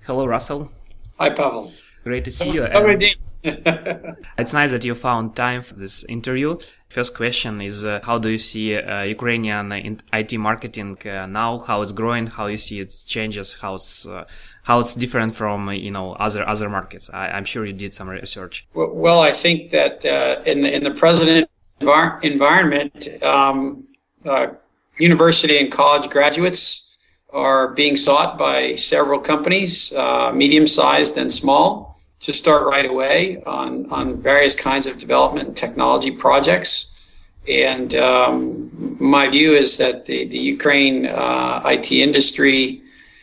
Hello, Russell. Hi, Pavel. Great to see you. It's nice that you found time for this interview. First question is, how do you see Ukrainian IT marketing now? How it's growing? How you see its changes? How it's different from other markets? I'm sure you did some research. Well, I think that in the present environment, university and college graduates are being sought by several companies, medium-sized and small, to start right away on various kinds of development and technology projects. And my view is that the Ukraine IT industry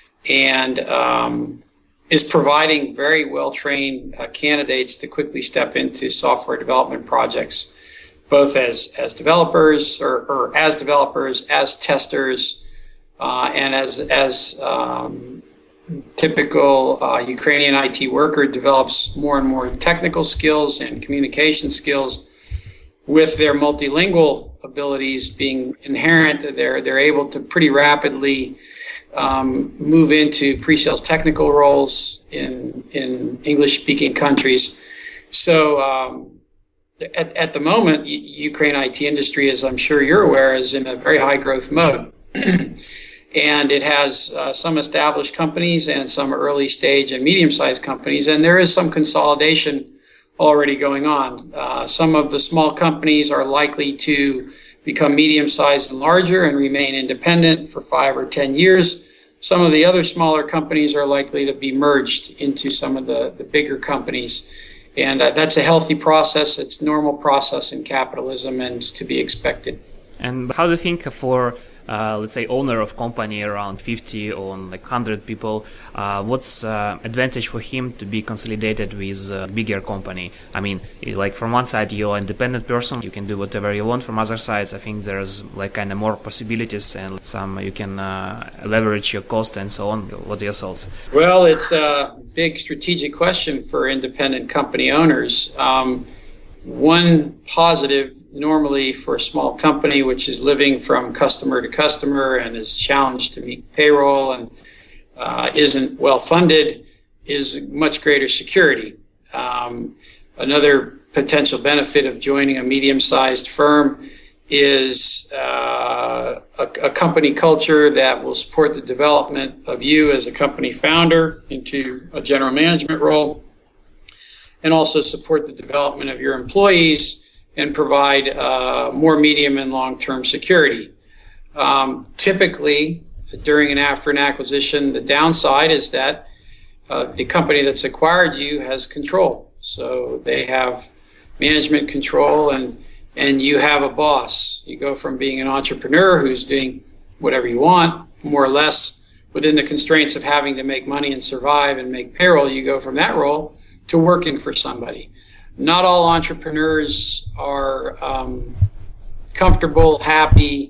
is providing very well-trained candidates to quickly step into software development projects, both as developers or as developers, as testers, and as typical Ukrainian IT worker develops more and more technical skills and communication skills. With their multilingual abilities being inherent, they're able to pretty rapidly move into pre-sales technical roles in English-speaking countries. So at the moment, Ukraine IT industry, as I'm sure you're aware, is in a very high growth mode. And it has some established companies and some early stage and medium-sized companies, and there is some consolidation already going on. Some of the small companies are likely to become medium-sized and larger and remain independent for 5 or 10 years. Some of the other smaller companies are likely to be merged into some of the bigger companies. And that's a healthy process. It's normal process in capitalism and it's to be expected. And how do you think for let's say owner of company around 50 or like 100 people, what's advantage for him to be consolidated with a bigger company? I mean, like from one side you're an independent person, you can do whatever you want. From other sides, I think there's like kind of more possibilities and some you can leverage your cost and so on. What are your thoughts? Well, it's a big strategic question for independent company owners. One positive normally for a small company which is living from customer to customer and is challenged to meet payroll and isn't well funded is much greater security. Another potential benefit of joining a medium-sized firm is a company culture that will support the development of you as a company founder into a general management role, and also support the development of your employees and provide more medium and long-term security. Typically, during and after an acquisition, the downside is that the company that's acquired you has control. So they have management control and you have a boss. You go from being an entrepreneur who's doing whatever you want, more or less within the constraints of having to make money and survive and make payroll, you go from that role to working for somebody. Not all entrepreneurs are comfortable, happy,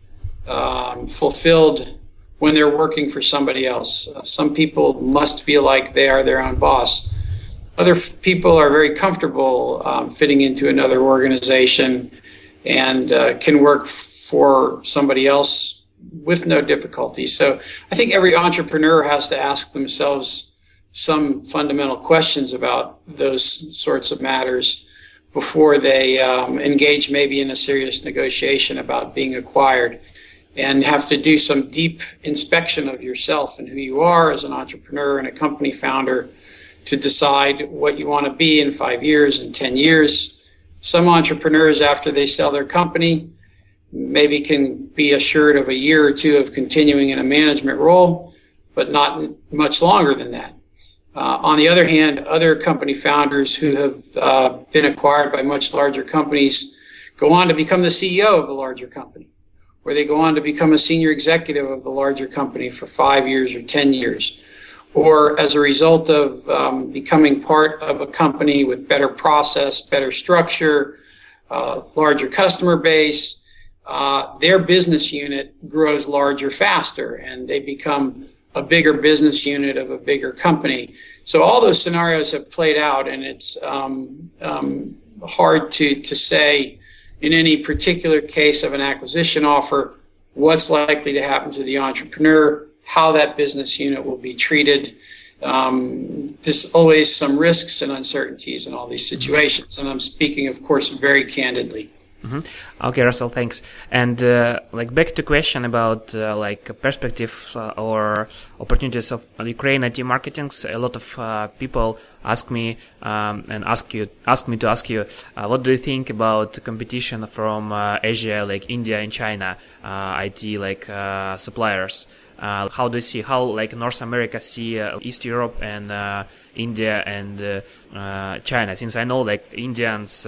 fulfilled when they're working for somebody else. Some people must feel like they are their own boss. Other people are very comfortable fitting into another organization and can work for somebody else with no difficulty. So I think every entrepreneur has to ask themselves some fundamental questions about those sorts of matters before they engage maybe in a serious negotiation about being acquired, and have to do some deep inspection of yourself and who you are as an entrepreneur and a company founder to decide what you want to be in 5 years and 10 years. Some entrepreneurs, after they sell their company, maybe can be assured of a year or two of continuing in a management role, but not much longer than that. On the other hand, other company founders who have been acquired by much larger companies go on to become the CEO of the larger company, or they go on to become a senior executive of the larger company for 5 years or 10 years. Or as a result of becoming part of a company with better process, better structure, larger customer base, their business unit grows larger faster and they become a bigger business unit of a bigger company. So all those scenarios have played out, and it's hard to say in any particular case of an acquisition offer what's likely to happen to the entrepreneur, how that business unit will be treated. There's always some risks and uncertainties in all these situations. And I'm speaking, of course, very candidly. Mm-hmm. Okay, Russell, thanks. And back to question about perspectives or opportunities of Ukraine IT marketing. A lot of people ask me and ask me to ask you, what do you think about competition from Asia, like India and China, IT suppliers? How do you see North America see East Europe and India and China? Since I know Indians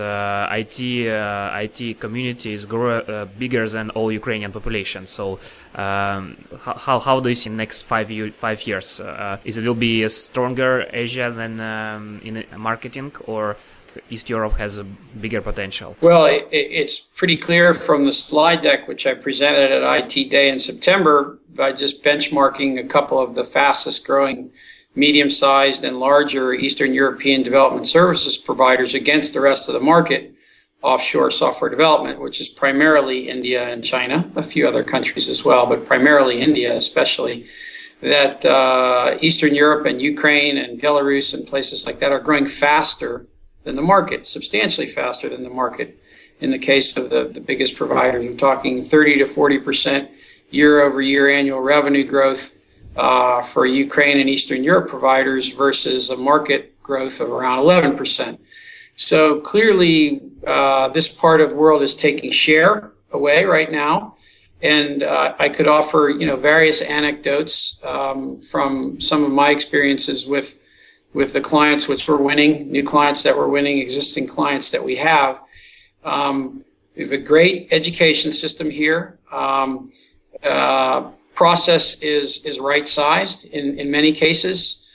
IT community is bigger than all Ukrainian population. So how do you see next 5 years? Is it will be a stronger Asia than in marketing, or East Europe has a bigger potential? Well, it's pretty clear from the slide deck, which I presented at IT Day in September, by just benchmarking a couple of the fastest growing medium-sized and larger Eastern European development services providers against the rest of the market, offshore software development, which is primarily India and China, a few other countries as well, but primarily India especially, that Eastern Europe and Ukraine and Belarus and places like that are growing faster than the market, substantially faster than the market. In the case of the biggest providers, we're talking 30 to 40% year-over-year annual revenue growth for Ukraine and Eastern Europe providers versus a market growth of around 11%. So clearly, this part of the world is taking share away right now. And I could offer, various anecdotes from some of my experiences with the clients which we're winning, new clients that we're winning, existing clients that we have. We have a great education system here. Process is right-sized in many cases.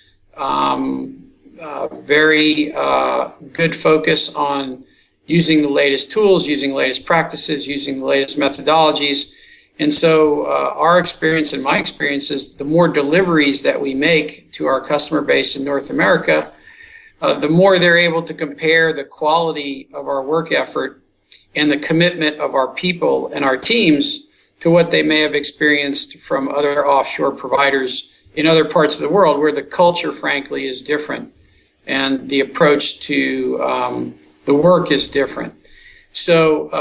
Very good focus on using the latest tools, using the latest practices, using the latest methodologies. And so our experience and my experience is the more deliveries that we make to our customer base in North America, the more they're able to compare the quality of our work effort and the commitment of our people and our teams to what they may have experienced from other offshore providers in other parts of the world where the culture, frankly, is different and the approach to the work is different. So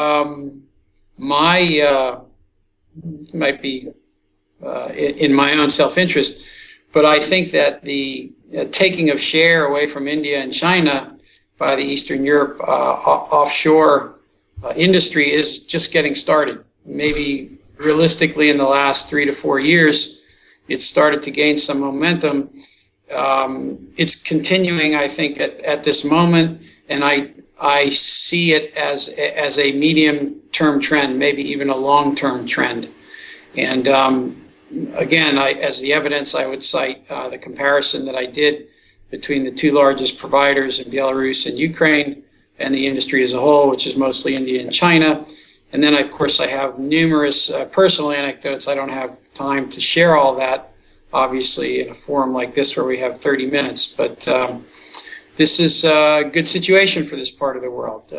might be in my own self-interest, but I think that the taking of share away from India and China by the Eastern Europe offshore industry is just getting started. Maybe realistically in the last 3 to 4 years, it's started to gain some momentum. It's continuing, I think, at this moment, and I see it as a medium-term trend, maybe even a long-term trend. And again, as the evidence, I would cite the comparison that I did between the two largest providers in Belarus and Ukraine and the industry as a whole, which is mostly India and China. And then, of course, I have numerous personal anecdotes. I don't have time to share all that, obviously, in a forum like this where we have 30 minutes. But this is a good situation for this part of the world.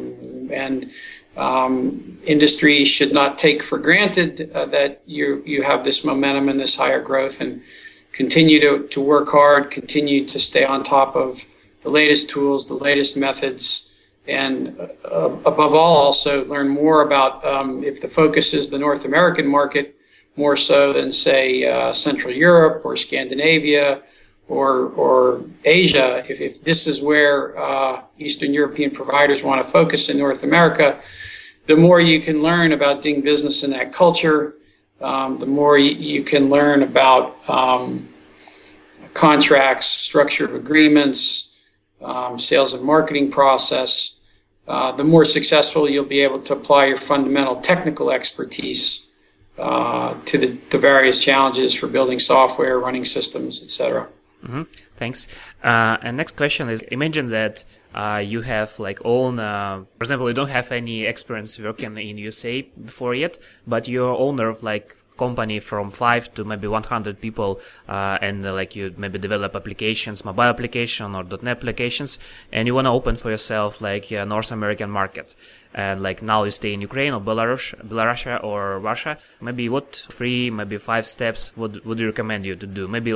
Industry should not take for granted that you have this momentum and this higher growth, and continue to work hard, continue to stay on top of the latest tools, the latest methods, and above all, also learn more about if the focus is the North American market, more so than, say, Central Europe or Scandinavia or Asia. If this is where Eastern European providers want to focus in North America, the more you can learn about doing business in that culture, the more you can learn about contracts, structure of agreements, sales and marketing process, the more successful you'll be able to apply your fundamental technical expertise to the various challenges for building software, running systems, etc. Mm-hmm. Thanks. And next question is, imagine that you have own, for example, you don't have any experience working in USA before yet, but you're owner of company from 5 to maybe 100 people, and you maybe develop applications, mobile application or .NET applications, and you want to open for yourself a North American market. And now you stay in Ukraine or Belarus or Russia. Maybe what 3, maybe 5 steps would you recommend you to do? Maybe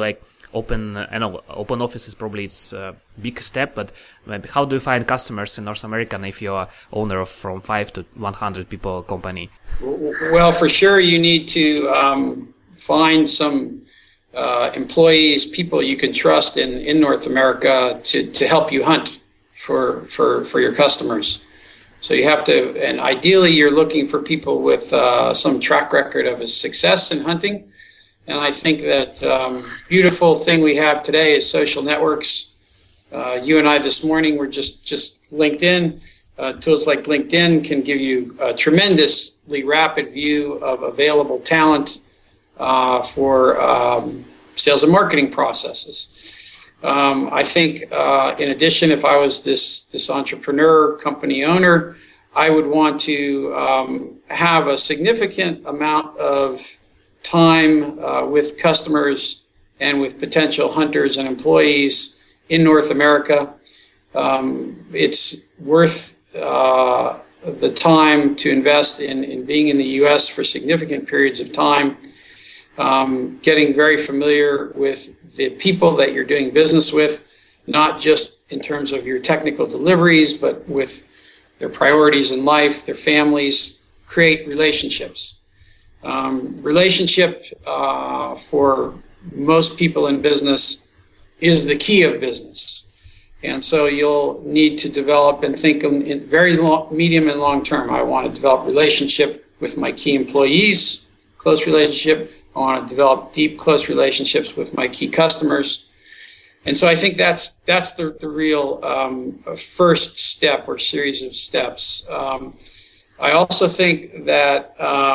open. I know open offices probably it's a big step, but maybe how do you find customers in North America if you're owner of from 5 to 100 people company? Well, for sure, you need to find some employees, people you can trust in North America to help you hunt for your customers. So you have to, and ideally you're looking for people with some track record of success in hunting. And I think that beautiful thing we have today is social networks. You and I this morning were just LinkedIn. Tools like LinkedIn can give you a tremendously rapid view of available talent for sales and marketing processes. I think, in addition, if I was this entrepreneur, company owner, I would want to have a significant amount of time with customers and with potential hunters and employees in North America. It's worth the time to invest in being in the U.S. for significant periods of time. Getting very familiar with the people that you're doing business with, not just in terms of your technical deliveries, but with their priorities in life, their families, create relationships. Relationship for most people in business is the key of business. And so you'll need to develop and think in very medium and long term. I want to develop relationship with my key employees, close relationship. I want to develop deep, close relationships with my key customers. And so I think that's the real first step or series of steps. I also think that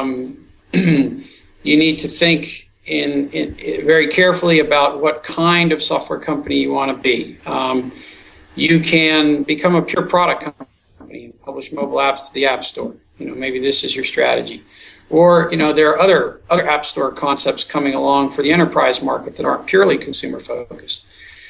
you need to think in very carefully about what kind of software company you want to be. You can become a pure product company and publish mobile apps to the App Store. Maybe this is your strategy. Or, there are other App Store concepts coming along for the enterprise market that aren't purely consumer focused.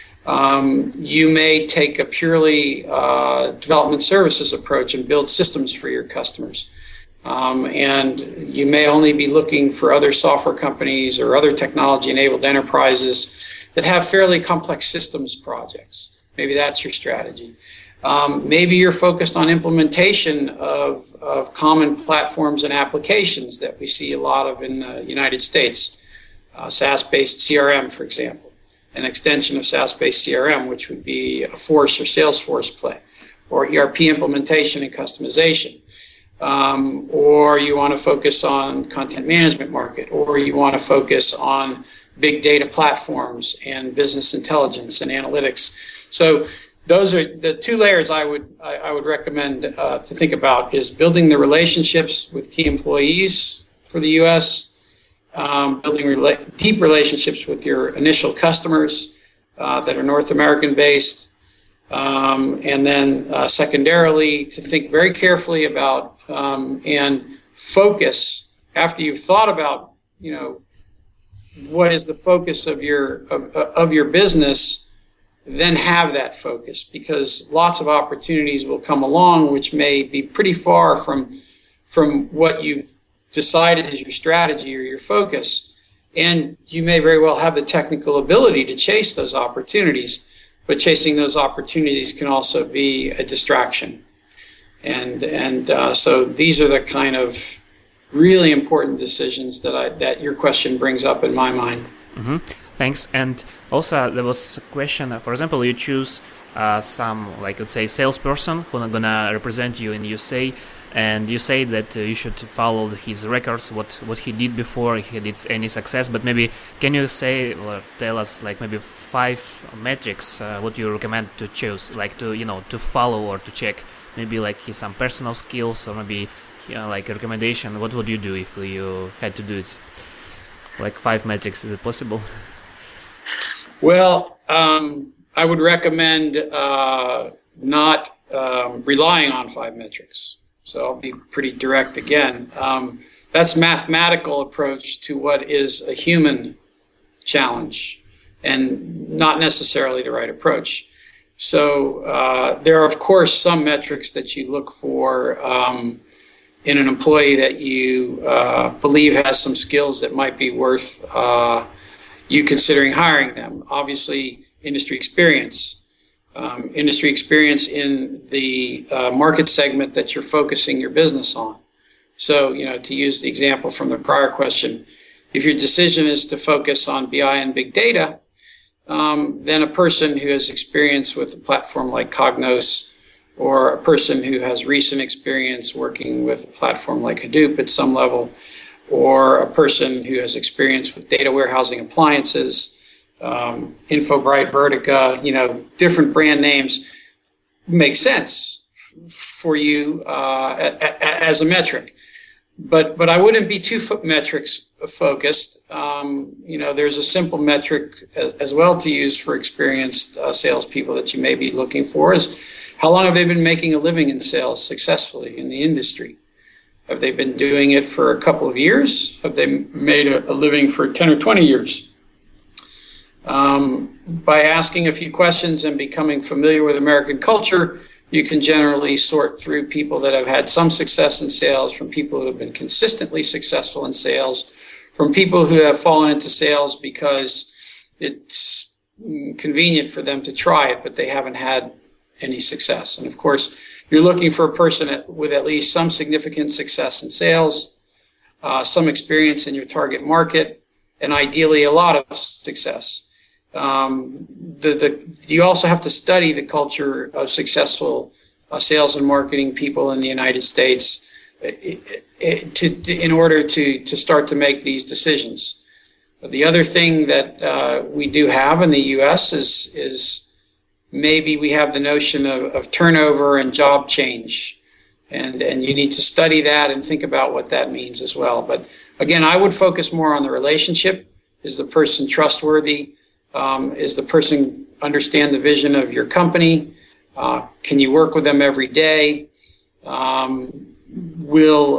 You may take a purely development services approach and build systems for your customers. And you may only be looking for other software companies or other technology-enabled enterprises that have fairly complex systems projects. Maybe that's your strategy. Maybe you're focused on implementation of common platforms and applications that we see a lot of in the United States. SaaS-based CRM, for example, an extension of SaaS-based CRM, which would be a Force or Salesforce play, or ERP implementation and customization. Or you want to focus on content management market, or you want to focus on big data platforms and business intelligence and analytics. So those are the two layers I would recommend to think about: is building the relationships with key employees for the U.S., building deep relationships with your initial customers that are North American based, and then secondarily to think very carefully about and focus after you've thought about what is the focus of your business. Then have that focus, because lots of opportunities will come along which may be pretty far from what you've decided is your strategy or your focus. And you may very well have the technical ability to chase those opportunities, but chasing those opportunities can also be a distraction. And so these are the kind of really important decisions that your question brings up in my mind. Mm-hmm. Thanks. And also there was a question, for example, you choose some, like let's say, salesperson who's not gonna represent you in the USA, and you say that you should follow his records, what he did before he did any success. But maybe can you say or tell us like maybe 5 metrics what you recommend to choose, like to follow or to check, maybe like his some personal skills, or maybe like a recommendation. What would you do if you had to do it? Like 5 metrics, is it possible? Well, I would recommend not relying on 5 metrics. So I'll be pretty direct again. That's mathematical approach to what is a human challenge, and not necessarily the right approach. So there are, of course, some metrics that you look for in an employee that you believe has some skills that might be worth you considering hiring them. Obviously, industry experience. Industry experience in the market segment that you're focusing your business on. So, to use the example from the prior question, if your decision is to focus on BI and big data, then a person who has experience with a platform like Cognos, or a person who has recent experience working with a platform like Hadoop at some level, or a person who has experience with data warehousing appliances, InfoBright, Vertica, different brand names, make sense for you as a metric. But I wouldn't be too metrics focused. There's a simple metric as well to use for experienced salespeople that you may be looking for is how long have they been making a living in sales successfully in the industry? Have they been doing it for a couple of years? Have they made a living for 10 or 20 years? By asking a few questions and becoming familiar with American culture, you can generally sort through people that have had some success in sales from people who have been consistently successful in sales, from people who have fallen into sales because it's convenient for them to try it, but they haven't had any success. And of course, you're looking for a person with at least some significant success in sales, some experience in your target market, and ideally a lot of success. You also have to study the culture of successful sales and marketing people in the United States in order to start to make these decisions. The other thing that we do have in the U.S. is maybe we have the notion of turnover and job change, and you need to study that and think about what that means as well. But again, I would focus more on the relationship. Is the person trustworthy? Is the person understand the vision of your company? Can you work with them every day? Will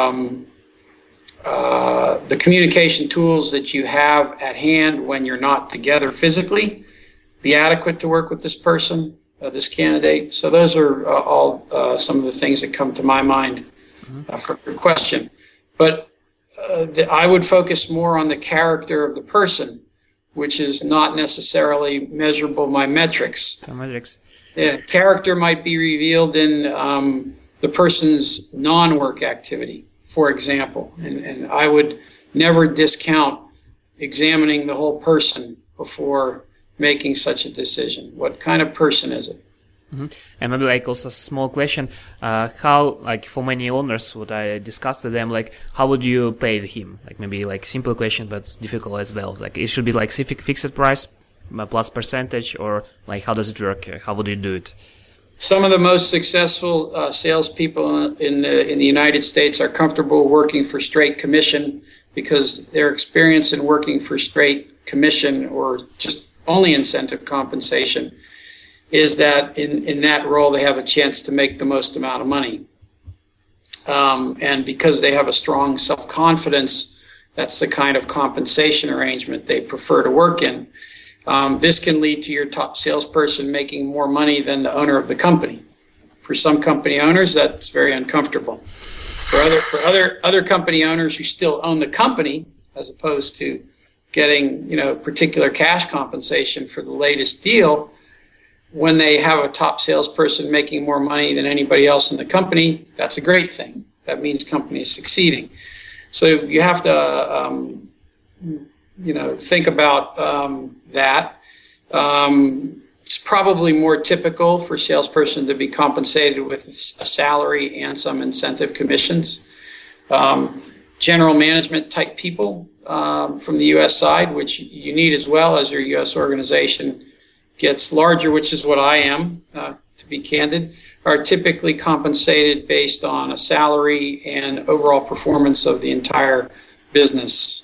the communication tools that you have at hand when you're not together physically be adequate to work with this person, this candidate? So those are all some of the things that come to my mind for your question. But I would focus more on the character of the person, which is not necessarily measurable by metrics. Yeah, character might be revealed in the person's non-work activity, for example. And I would never discount examining the whole person before making such a decision. What kind of person is it? Mm-hmm. And maybe also a small question, how for many owners, what I discussed with them, how would you pay him? Maybe simple question, but it's difficult as well. It should be fixed price plus percentage, or how does it work? How would you do it? Some of the most successful salespeople in the United States are comfortable working for straight commission because their experience in working for straight commission or just only incentive compensation is that in that role they have a chance to make the most amount of money. And because they have a strong self-confidence, that's the kind of compensation arrangement they prefer to work in. This can lead to your top salesperson making more money than the owner of the company. For some company owners, that's very uncomfortable. For other company owners who still own the company, as opposed to getting particular cash compensation for the latest deal, when they have a top salesperson making more money than anybody else in the company, that's a great thing. That means company is succeeding. So you have to, think about that. It's probably more typical for a salesperson to be compensated with a salary and some incentive commissions. General management type people from the U.S. side, which you need as well as your U.S. organization gets larger, which is what I am, to be candid, are typically compensated based on a salary and overall performance of the entire business.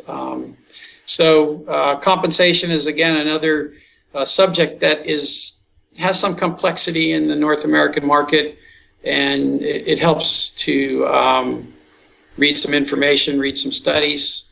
So compensation is, again, another subject that has some complexity in the North American market, and it helps to read some information, read some studies,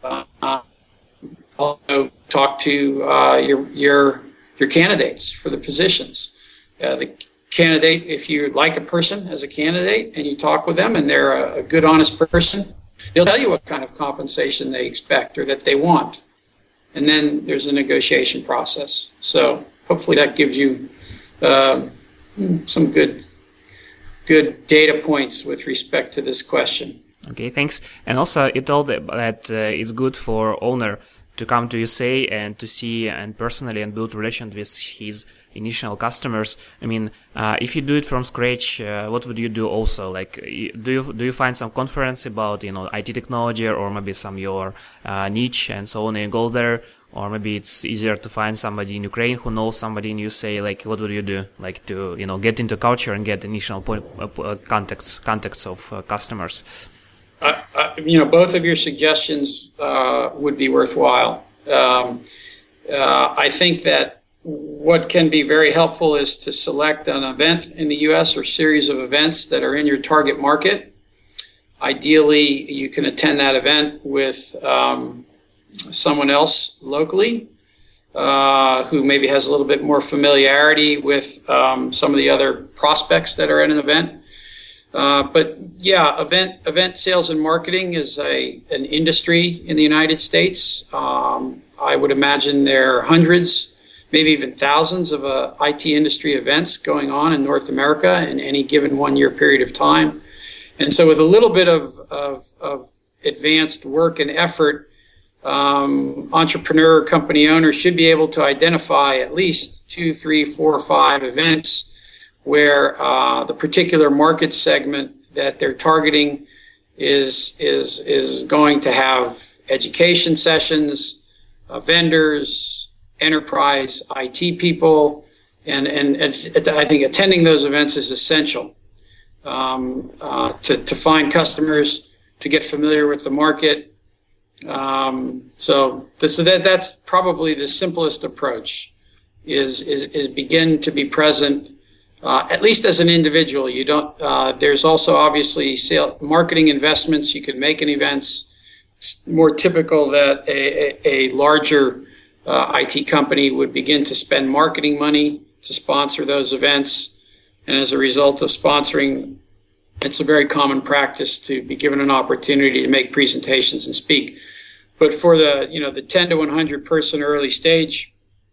also talk to your candidates for the positions. The candidate, if you like a person as a candidate and you talk with them and they're a good, honest person, they'll tell you what kind of compensation they expect or that they want. and then there's a negotiation process. So hopefully that gives you some good data points with respect to this question. Okay, thanks. And also, you told that it's good for owner to come to USA and to see and personally and build relations with his initial customers. I mean, if you do it from scratch, what would you do also? Like, do you find some conference about, IT technology or maybe some your niche and so on and go there? Or maybe it's easier to find somebody in Ukraine who knows somebody in USA. Like, what would you do? Like to, get into culture and get initial contacts of customers. Both of your suggestions would be worthwhile. I think that what can be very helpful is to select an event in the U.S. or series of events that are in your target market. Ideally, you can attend that event with someone else locally who maybe has a little bit more familiarity with some of the other prospects that are at an event. But yeah, event sales and marketing is an industry in the United States. I would imagine there are hundreds, maybe even thousands of IT industry events going on in North America in any given 1 year period of time. And so with a little bit of advanced work and effort, entrepreneur company owners should be able to identify at least 2, 3, 4, 5 events where the particular market segment that they're targeting is going to have education sessions, vendors, enterprise IT people, and I think attending those events is essential to find customers, to get familiar with the market. So that's probably the simplest approach is begin to be present. At least as an individual. You don't. There's also obviously marketing investments you can make in events. It's more typical that a larger IT company would begin to spend marketing money to sponsor those events, and as a result of sponsoring, it's a very common practice to be given an opportunity to make presentations and speak. But for the 10 to 100 person early stage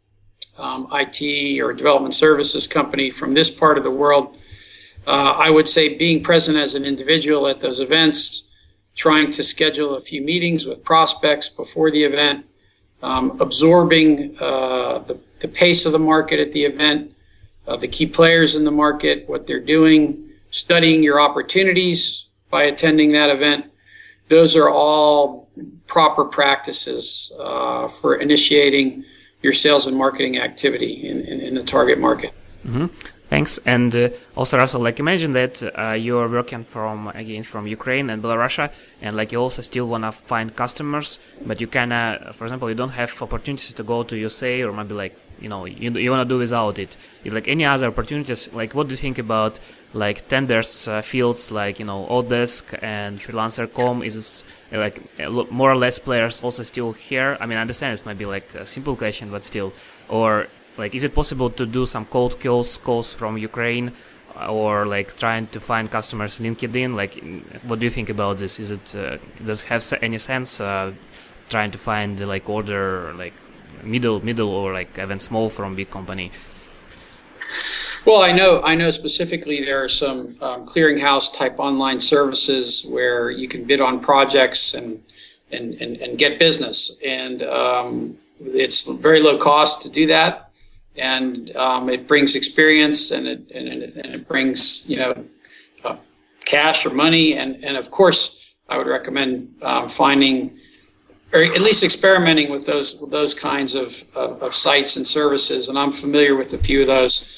IT or development services company from this part of the world, I would say being present as an individual at those events, trying to schedule a few meetings with prospects before the event, absorbing the pace of the market at the event, the key players in the market, what they're doing, studying your opportunities by attending that event. Those are all proper practices for initiating your sales and marketing activity in the target market. Mm-hmm. Thanks. And also, Russell, like imagine that you're working from Ukraine and Belarus, and like you also still want to find customers, but you can, for example, you don't have opportunities to go to USA, or maybe like, you want to do without it. Like any other opportunities, like what do you think about like tenders, fields like, Odesk and Freelancer.com? Is it like more or less players also still here? I mean, I understand it might be like a simple question, but still. Or like, is it possible to do some cold calls from Ukraine, or like trying to find customers LinkedIn? Like, what do you think about this? Is it, does it have any sense trying to find like order, like middle or like even small from big company? Well, I know specifically there are some clearinghouse type online services where you can bid on projects and get business, and it's very low cost to do that, and it brings experience and it brings cash or money, and of course I would recommend finding or at least experimenting with those kinds of sites and services, and I'm familiar with a few of those.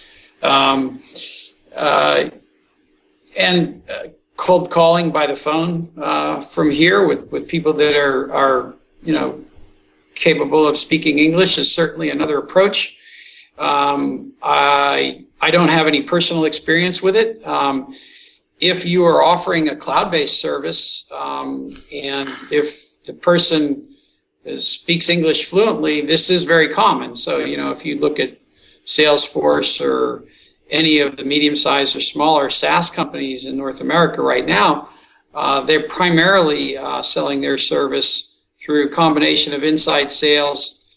And cold calling by the phone from here with people that are capable of speaking English is certainly another approach. I don't have any personal experience with it. If you are offering a cloud-based service and if the person speaks English fluently, this is very common. So, if you look at Salesforce or any of the medium-sized or smaller SaaS companies in North America right now, they're primarily selling their service through a combination of inside sales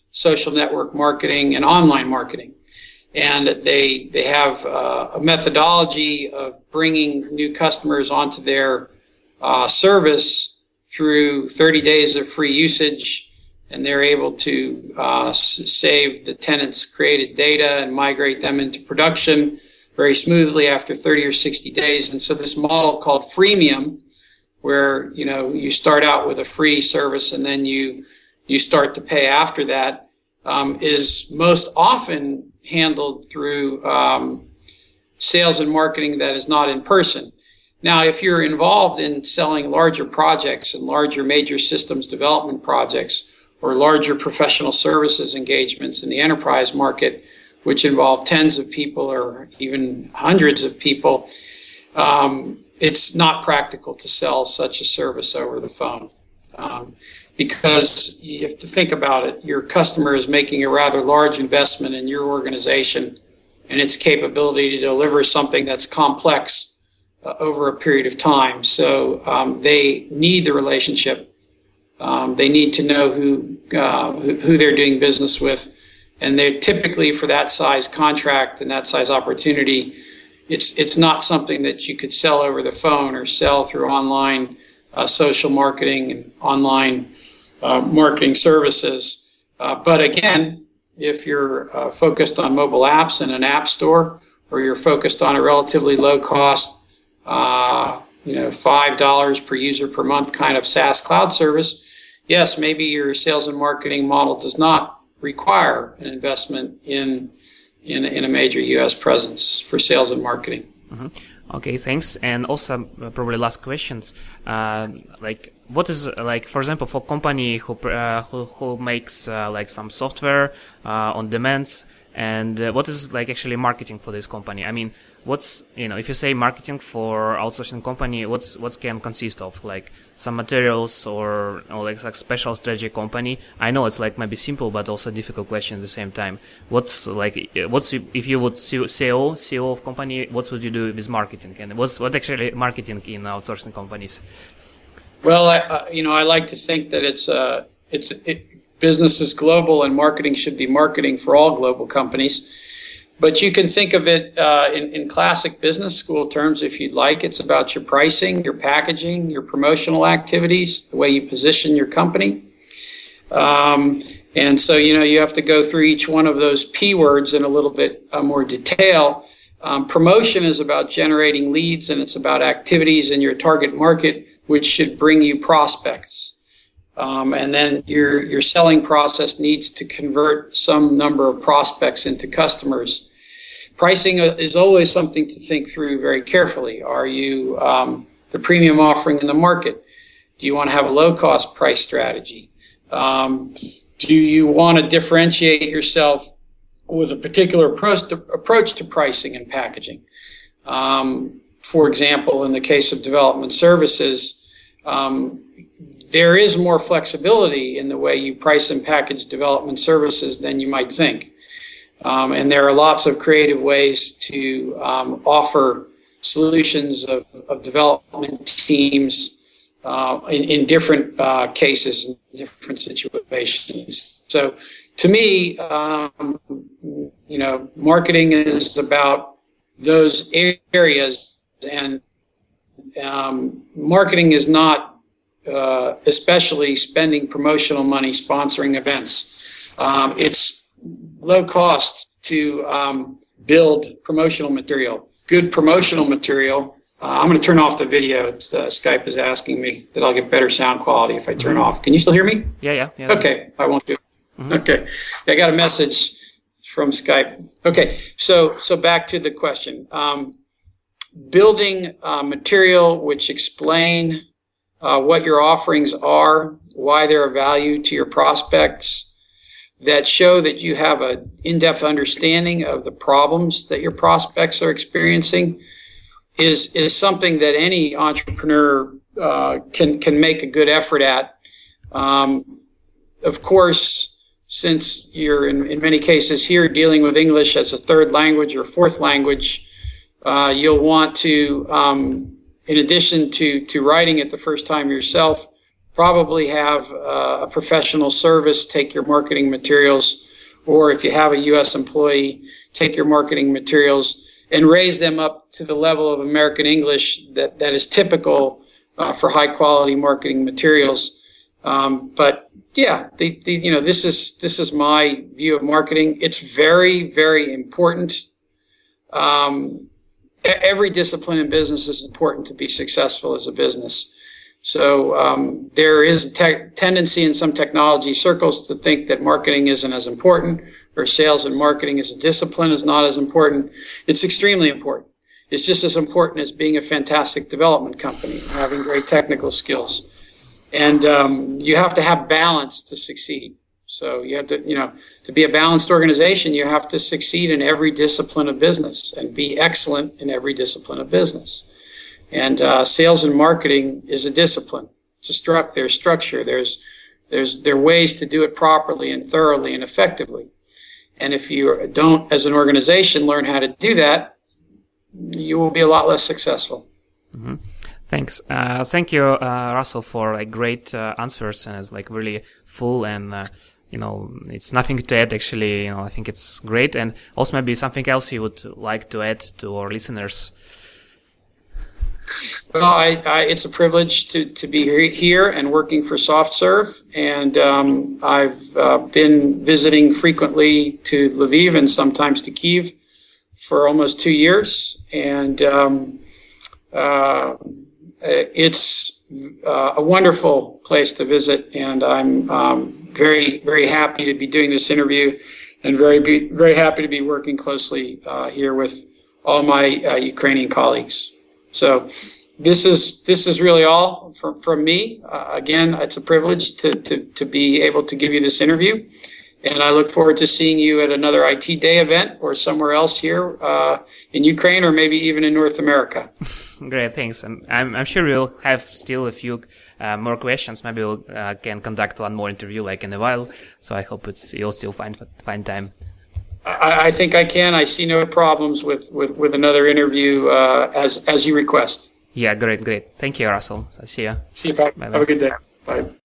social network marketing, and online marketing. And they have a methodology of bringing new customers onto their service through 30 days of free usage, and they're able to save the tenants' created data and migrate them into production very smoothly after 30 or 60 days. And so this model called freemium, where you start out with a free service and then you start to pay after that, is most often handled through sales and marketing that is not in person. Now, if you're involved in selling larger projects and larger major systems development projects or larger professional services engagements in the enterprise market, which involve tens of people or even hundreds of people, it's not practical to sell such a service over the phone. Because you have to think about it. Your customer is making a rather large investment in your organization and its capability to deliver something that's complex over a period of time. So they need the relationship. They need to know who they're doing business with. And they typically, for that size contract and that size opportunity, it's not something that you could sell over the phone or sell through online social marketing and online marketing services. But again, if you're focused on mobile apps and an app store, or you're focused on a relatively low cost, $5 per user per month kind of SaaS cloud service, yes, maybe your sales and marketing model does not require an investment in a major U.S. presence for sales and marketing. Mm-hmm. Okay, thanks. And also, probably last question, what is, for example, for company who makes some software on demand, and what is actually marketing for this company? I mean, what's, if you say marketing for outsourcing company, what can consist of? Some materials or special strategy company? I know it's maybe simple, but also difficult question at the same time. What's if you would CEO of company, what would you do with marketing? And what actually marketing in outsourcing companies? Well, I like to think that business is global and marketing should be marketing for all global companies. But you can think of it in classic business school terms if you'd like. It's about your pricing, your packaging, your promotional activities, the way you position your company. And so, you have to go through each one of those P words in a little bit more detail. Promotion is about generating leads, and it's about activities in your target market, which should bring you prospects. And then your selling process needs to convert some number of prospects into customers. Pricing is always something to think through very carefully. Are you the premium offering in the market? Do you want to have a low-cost price strategy? Do you want to differentiate yourself with a particular approach to pricing and packaging? For example, in the case of development services, there is more flexibility in the way you price and package development services than you might think. And there are lots of creative ways to offer solutions of development teams in different cases, in different situations. So to me, marketing is about those areas, and marketing is not especially spending promotional money sponsoring events. It's low cost to build promotional material. Good promotional material. I'm going to turn off the video. Skype is asking me that I'll get better sound quality if I turn off. Can you still hear me? Yeah. Okay, I won't do it. Mm-hmm. Okay, I got a message from Skype. Okay, so back to the question. Building material which explain what your offerings are, why they're of value to your prospects, that show that you have an in-depth understanding of the problems that your prospects are experiencing is something that any entrepreneur can make a good effort at. Of course, since you're in many cases here dealing with English as a third language or fourth language, you'll want to, in addition to writing it the first time yourself, probably have a professional service take your marketing materials, or if you have a U.S. employee, take your marketing materials and raise them up to the level of American English that is typical for high quality marketing materials. But yeah, this is my view of marketing. It's very, very important. Every discipline in business is important to be successful as a business. So there is a tendency in some technology circles to think that marketing isn't as important, or sales and marketing as a discipline is not as important. It's extremely important. It's just as important as being a fantastic development company, having great technical skills. And you have to have balance to succeed. So you have to be a balanced organization, you have to succeed in every discipline of business and be excellent in every discipline of business. And sales and marketing is a discipline. There's structure. There are ways to do it properly and thoroughly and effectively. And if you don't, as an organization, learn how to do that, you will be a lot less successful. Mm-hmm. Thanks. Thank you, Russell, for great answers, and it's really full, and it's nothing to add. Actually, I think it's great, and also maybe something else you would like to add to our listeners. Well, it's a privilege to be here and working for SoftServe, and I've been visiting frequently to Lviv and sometimes to Kyiv for almost 2 years, and it's a wonderful place to visit, and I'm very, very happy to be doing this interview, and very happy to be working closely here with all my Ukrainian colleagues. So this is really all from me. Again, it's a privilege to be able to give you this interview, and I look forward to seeing you at another IT Day event or somewhere else here in Ukraine, or maybe even in North America. Great, thanks. And I'm sure we'll have still a few more questions. Maybe we'll can conduct one more interview in a while. So I hope you'll still find time. I think I can. I see no problems with another interview as you request. Yeah, great. Thank you, Russell. See you. See you, Pat. Have a good day. Bye.